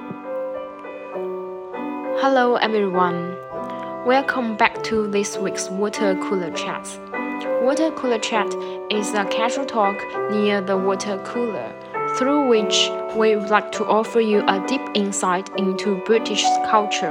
Hello everyone. Welcome back to this week's Water Cooler Chat. Water Cooler Chat is a casual talk near the water cooler, through which we would like to offer you a deep insight into British culture.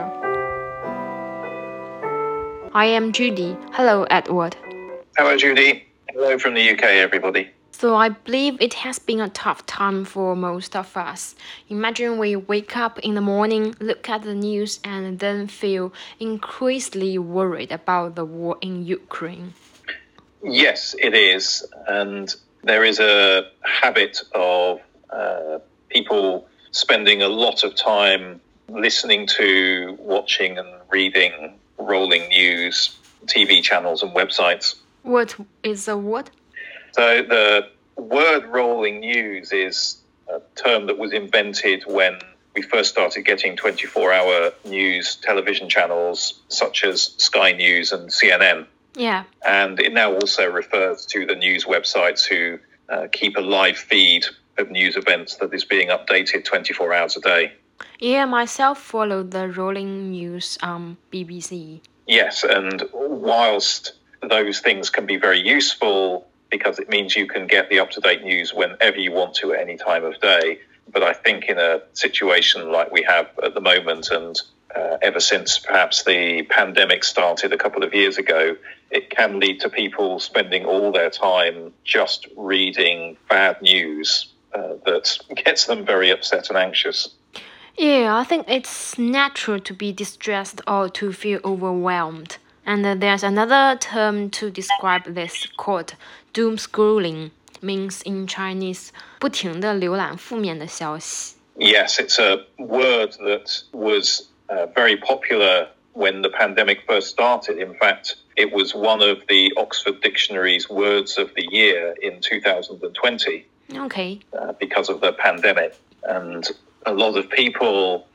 I am Judy. Hello, Edward. Hello, Judy. Hello from the UK, everybody. So I believe it has been a tough time for most of us. Imagine we wake up in the morning, look at the news, and then feel increasingly worried about the war in Ukraine. Yes, it is. And there is a habit of people spending a lot of time listening to, watching and reading rolling news, TV channels and websites. What is a what? So the word rolling news is a term that was invented when we first started getting 24-hour news television channels such as Sky News and CNN. Yeah. And it now also refers to the news websites who keep a live feed of news events that is being updated 24 hours a day. Yeah, myself follow the rolling news on BBC. Yes, and whilst those things can be very useful because it means you can get the up-to-date news whenever you want to at any time of day. But I think in a situation like we have at the moment and ever since perhaps the pandemic started a couple of years ago, it can lead to people spending all their time just reading bad news that gets them very upset and anxious. Yeah, I think it's natural to be distressed or to feel overwhelmed. And there's another term to describe this called doom scrolling, means in Chinese 不停地浏览负面的消息. Yes, it's a word that was very popular when the pandemic first started. In fact, it was one of the Oxford Dictionary's words of the year in 2020. Okay. Because of the pandemic. And a lot of people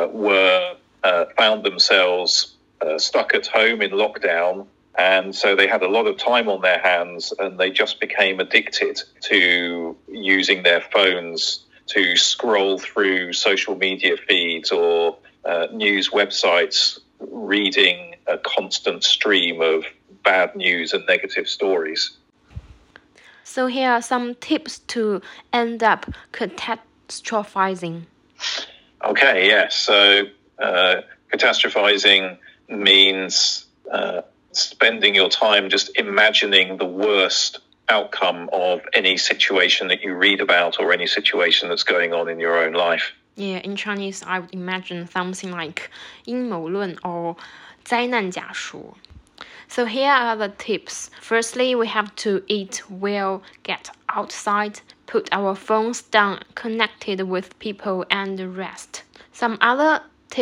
found themselves stuck at home in lockdown. And so they had a lot of time on their hands and they just became addicted to using their phones to scroll through social media feeds or news websites, reading a constant stream of bad news and negative stories. So here are some tips to end up catastrophizing. Okay, yes. So catastrophizing means spending your time just imagining the worst outcome of any situation that you read about or any situation that's going on in your own life. Yeah, in Chinese, I would imagine something like 阴谋论 or 灾难假说. So here are the tips. Firstly, we have to eat well, get outside, put our phones down, connected with people, and rest. Some other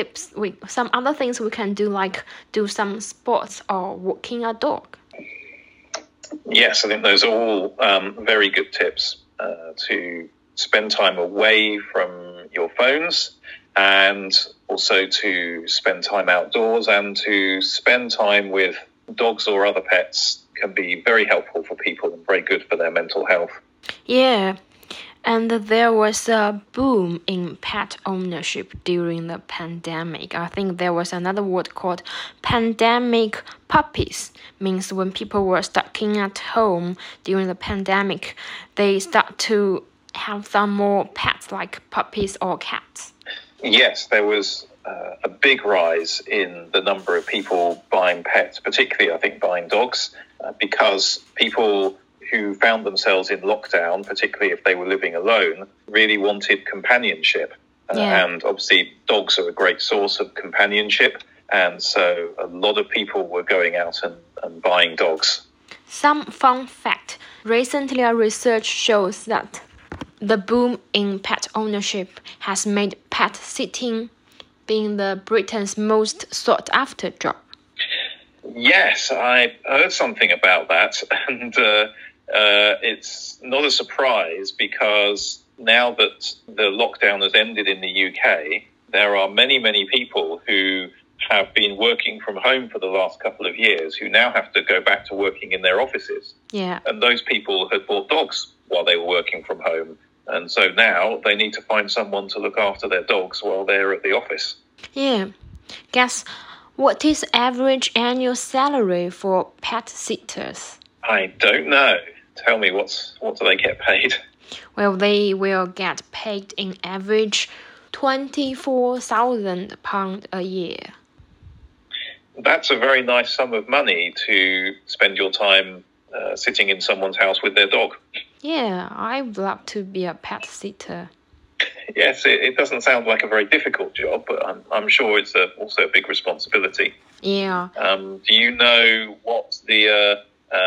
things we can do, like do some sports or walking a dog. Yes, I think those are all very good tips to spend time away from your phones and also to spend time outdoors and to spend time with dogs or other pets can be very helpful for people and very good for their mental health. Yeah. And there was a boom in pet ownership during the pandemic. I think there was another word called pandemic puppies. Means when people were stuck in at home during the pandemic, they start to have some more pets like puppies or cats. Yes, there was a big rise in the number of people buying pets, particularly I think buying dogs, because people who found themselves in lockdown, particularly if they were living alone, really wanted companionship. And obviously dogs are a great source of companionship. And so a lot of people were going out and buying dogs. Some fun fact. Recently, a research shows that the boom in pet ownership has made pet sitting being the Britain's most sought after job. Yes, I heard something about that. And it's not a surprise because now that the lockdown has ended in the UK, there are many, many people who have been working from home for the last couple of years who now have to go back to working in their offices. Yeah. And those people had bought dogs while they were working from home. And so now they need to find someone to look after their dogs while they're at the office. Yeah. Guess what is average annual salary for pet sitters? I don't know. Tell me, what do they get paid? Well, they will get paid in average £24,000 a year. That's a very nice sum of money to spend your time sitting in someone's house with their dog. Yeah, I would love to be a pet sitter. Yes, it doesn't sound like a very difficult job, but I'm sure it's also a big responsibility. Yeah. Do you know what the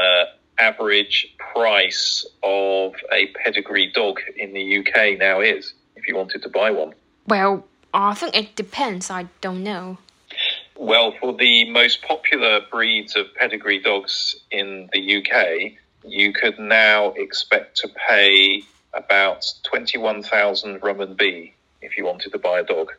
average price of a pedigree dog in the UK now is, if you wanted to buy one? Well, I think it depends. I don't know. Well, for the most popular breeds of pedigree dogs in the UK, you could now expect to pay about 21,000 RMB if you wanted to buy a dog.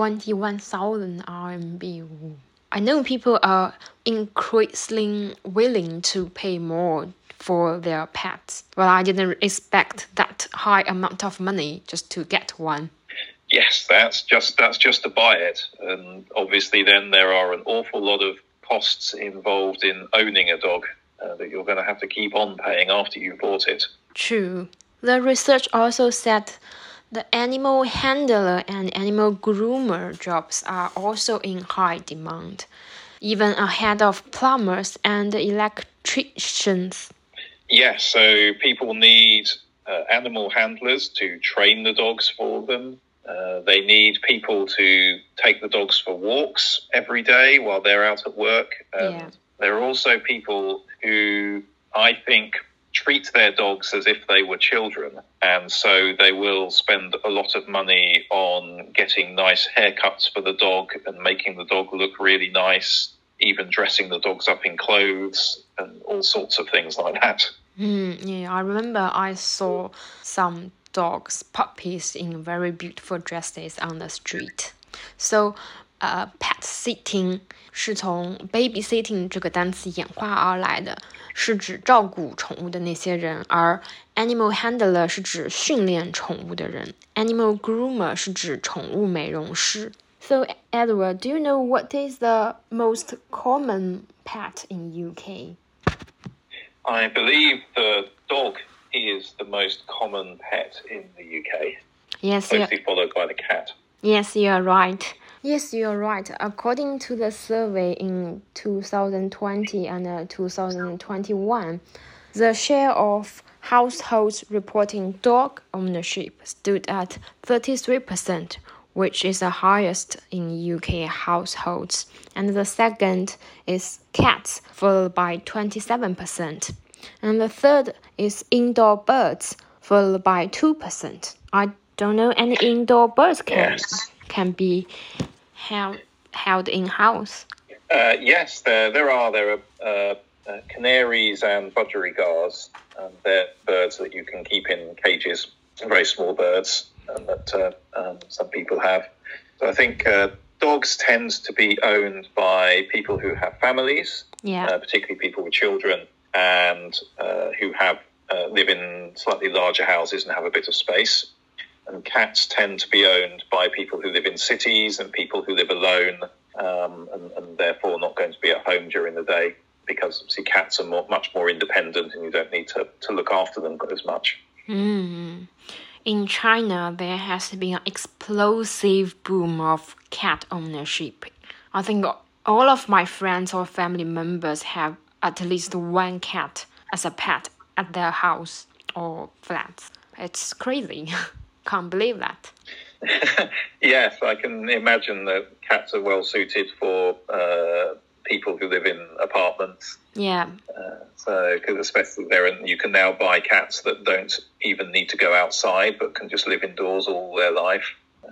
21,000 RMB. I know people are increasingly willing to pay more for their pets, but I didn't expect that high amount of money just to get one. Yes, that's just to buy it. And obviously then there are an awful lot of costs involved in owning a dog that you're going to have to keep on paying after you've bought it. True. The research also said the animal handler and animal groomer jobs are also in high demand, even ahead of plumbers and electricians. Yes, so people need animal handlers to train the dogs for them. They need people to take the dogs for walks every day while they're out at work. And there are also people who, I think, treat their dogs as if they were children. And so they will spend a lot of money on getting nice haircuts for the dog and making the dog look really nice, even dressing the dogs up in clothes and all sorts of things like that. Yeah, I remember I saw some dogs, puppies in very beautiful dresses on the street. So, pet sitting 是从 babysitting 这个单词演化而来的，是指照顾宠物的那些人，而 animal handler 是指训练宠物的人 ，animal groomer 是指宠物美容师。So, Edward, do you know what is the most common pet in UK? I believe the dog is the most common pet in the UK. Yes, closely followed by the cat. Yes, you're right. Yes, you're right. According to the survey in 2020 and 2021, the share of households reporting dog ownership stood at 33%, which is the highest in UK households. And the second is cats, followed by 27%. And the third is indoor birds, followed by 2%. I don't know any indoor birds can be held in house. Yes, there are canaries and budgerigars. They're birds that you can keep in cages, very small birds, that some people have. So I think dogs tend to be owned by people who have families, particularly people with children, and who live in slightly larger houses and have a bit of space. And cats tend to be owned by people who live in cities and people who live alone, and therefore not going to be at home during the day, because see, cats are much more independent and you don't need to look after them as much. In China, there has been an explosive boom of cat ownership. I think all of my friends or family members have at least one cat as a pet at their house or flats. It's crazy. Can't believe that. Yes, I can imagine that cats are well suited for people who live in apartments. Yeah. Because especially you can now buy cats that don't even need to go outside but can just live indoors all their life.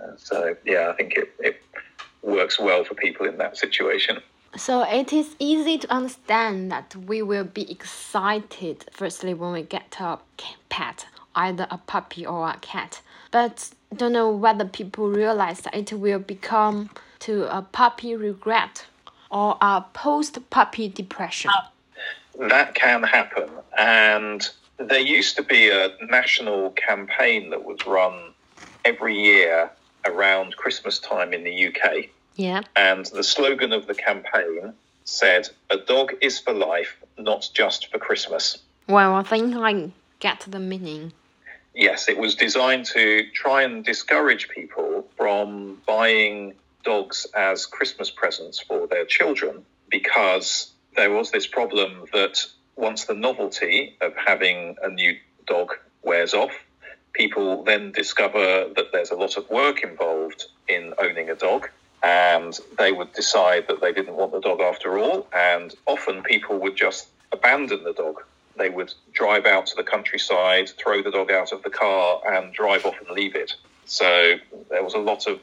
I think it works well for people in that situation. So it is easy to understand that we will be excited firstly when we get a pet, either a puppy or a cat. But don't know whether people realize that it will become to a puppy regret or a post-puppy depression. That can happen, and There used to be a national campaign that was run every year around Christmas time in the UK. Yeah. And the slogan of the campaign said, "A dog is for life, not just for Christmas." Well, I think I get the meaning. Yes, it was designed to try and discourage people from buying dogs as Christmas presents for their children, because there was this problem that once the novelty of having a new dog wears off, people then discover that there's a lot of work involved in owning a dog, and they would decide that they didn't want the dog after all, and often people would just abandon the dog. They would drive out to the countryside, throw the dog out of the car, and drive off and leave it. So there was a lot of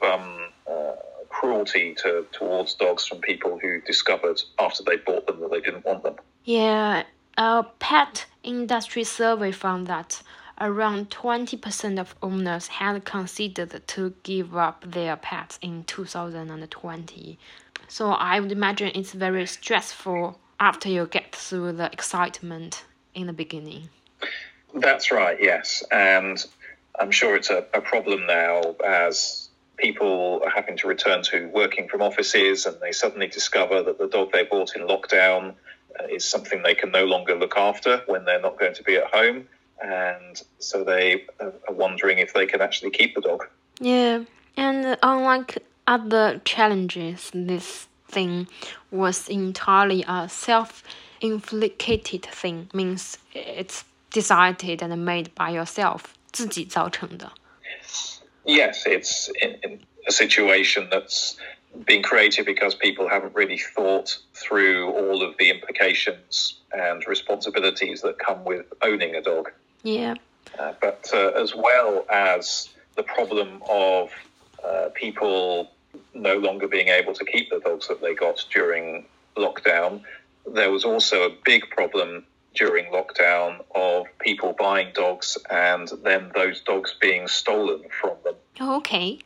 cruelty towards dogs from people who discovered after they bought them that they didn't want them. Yeah, a pet industry survey found that around 20% of owners had considered to give up their pets in 2020. So I would imagine it's very stressful after you get through the excitement in the beginning. That's right, yes. And I'm sure it's a problem now as people are having to return to working from offices, and they suddenly discover that the dog they bought in lockdown is something they can no longer look after when they're not going to be at home. And so they are wondering if they can actually keep the dog. Yeah, and unlike other challenges, this thing was entirely a self-inflicted thing, means it's decided and made by yourself, 自己造成的. Yes, it's in a situation that's been created because people haven't really thought through all of the implications and responsibilities that come with owning a dog. Yeah. But as well as the problem of people no longer being able to keep the dogs that they got during lockdown, there was also a big problem during lockdown of people buying dogs and then those dogs being stolen from them. Okay.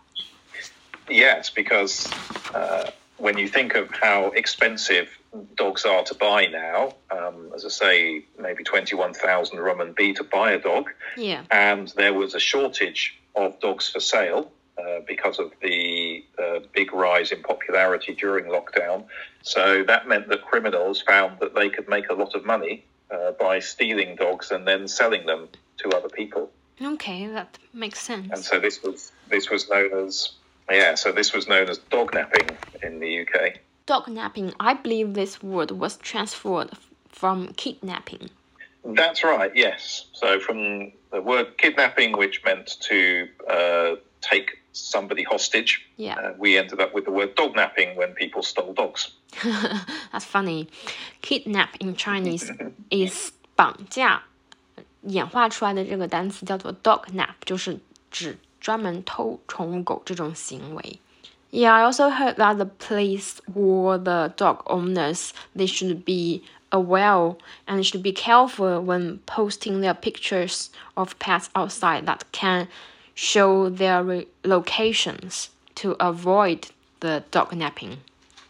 Yes, because when you think of how expensive dogs are to buy now, as I say, maybe 21,000 RMB to buy a dog. Yeah. And there was a shortage of dogs for sale because of the big rise in popularity during lockdown. So that meant that criminals found that they could make a lot of money by stealing dogs and then selling them to other people. Okay, that makes sense. And so this was known as dog napping in the UK. Dog napping, I believe this word was transferred from kidnapping. That's right, yes. So from the word kidnapping, which meant to take somebody hostage, we ended up with the word dog napping when people stole dogs. That's funny. Kidnap in Chinese is 绑架，演化出来的这个单词叫做 dog nap， 就是指专门偷宠物狗这种行为。Yeah, I also heard that the police warn the dog owners they should be aware and should be careful when posting their pictures of pets outside that can show their locations to avoid the dog napping.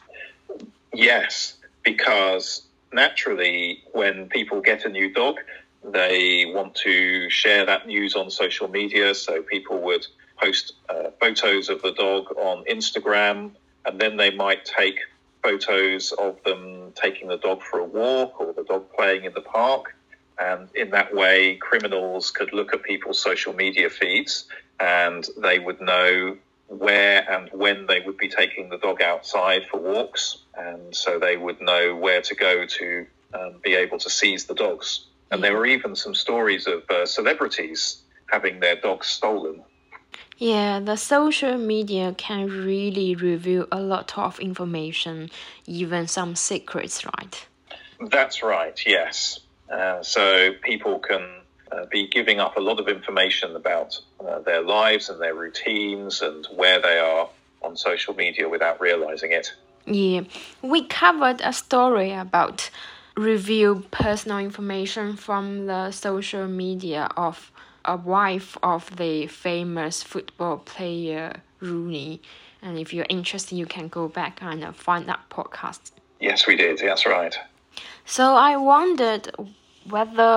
Yes, because naturally when people get a new dog, they want to share that news on social media, so people would post photos of the dog on Instagram, and then they might take photos of them taking the dog for a walk or the dog playing in the park. And in that way, criminals could look at people's social media feeds and they would know where and when they would be taking the dog outside for walks. And so they would know where to go to be able to seize the dogs. And there were even some stories of celebrities having their dogs stolen. Yeah, the social media can really reveal a lot of information, even some secrets, right? That's right, yes. So people can be giving up a lot of information about their lives and their routines and where they are on social media without realizing it. Yeah, we covered a story about reveal personal information from the social media of a wife of the famous football player Rooney. And if you're interested, you can go back and find that podcast. Yes, we did. That's right. So I wondered whether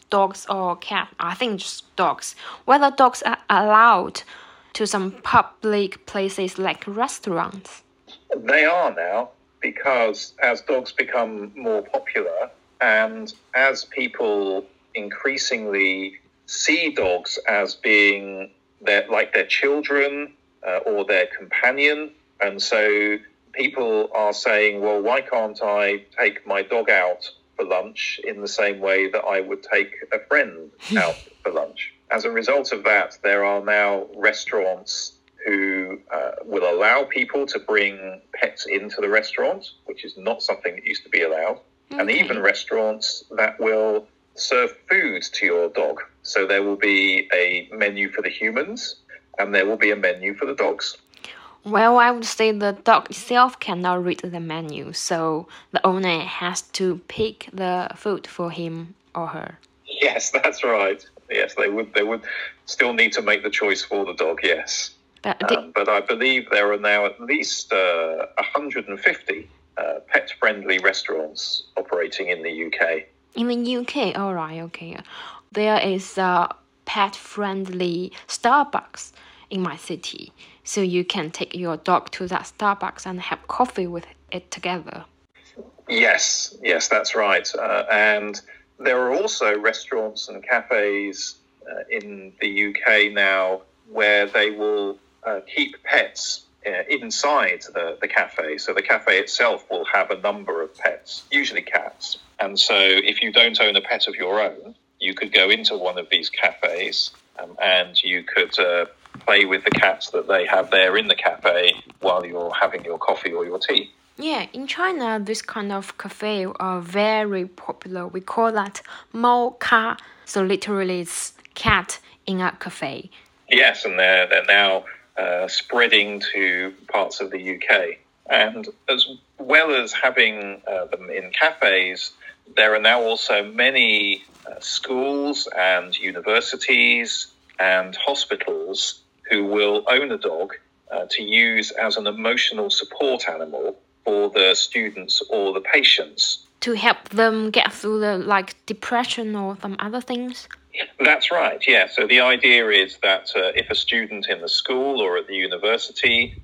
dogs or cats, I think just dogs, whether dogs are allowed to some public places like restaurants. They are now, because as dogs become more popular and as people increasingly see dogs as being their children or their companion, and so people are saying, well, why can't I take my dog out for lunch in the same way that I would take a friend out for lunch? As a result of that, there are now restaurants who will allow people to bring pets into the restaurant, which is not something that used to be allowed, and even restaurants that will serve food to your dog. So there will be a menu for the humans and there will be a menu for the dogs. Well, I would say the dog itself cannot read the menu, so the owner has to pick the food for him or her. Yes, that's right. Yes, they would still need to make the choice for the dog, yes. But I believe there are now at least 150 pet-friendly restaurants operating in the UK. In the UK, all right, okay. There is a pet-friendly Starbucks in my city, so you can take your dog to that Starbucks and have coffee with it together. Yes, that's right. And there are also restaurants and cafes in the UK now where they will keep pets inside the cafe. So the cafe itself will have a number of pets, usually cats. And so if you don't own a pet of your own, you could go into one of these cafes and you could play with the cats that they have there in the cafe while you're having your coffee or your tea. Yeah, in China, this kind of cafe are very popular. We call that 猫咖. So literally it's cat in a cafe. Yes, and they're now spreading to parts of the UK. And as well as having them in cafes, there are now also many schools and universities and hospitals who will own a dog to use as an emotional support animal for the students or the patients. To help them get through the depression or some other things? That's right, yeah. So the idea is that if a student in the school or at the university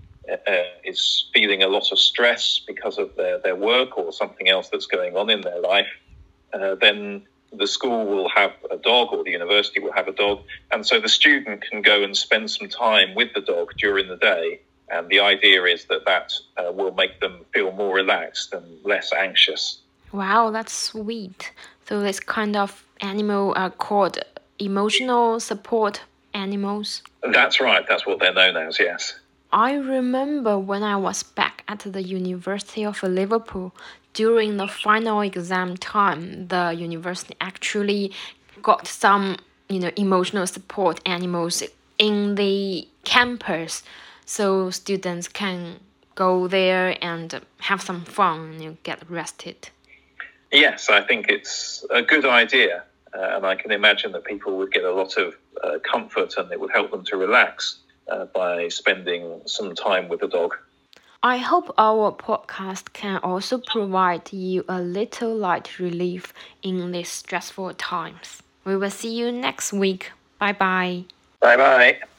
is feeling a lot of stress because of their work or something else that's going on in their life, then the school will have a dog or the university will have a dog. And so the student can go and spend some time with the dog during the day. And the idea is that will make them feel more relaxed and less anxious. Wow, that's sweet. So this kind of animal are called emotional support animals? That's right. That's what they're known as, yes. I remember when I was back at the University of Liverpool, during the final exam time, the university actually got some, emotional support animals in the campus, so students can go there and have some fun and get rested. Yes, I think it's a good idea, and I can imagine that people would get a lot of comfort and it would help them to relax by spending some time with the dog. I hope our podcast can also provide you a little light relief in these stressful times. We will see you next week. Bye-bye. Bye-bye.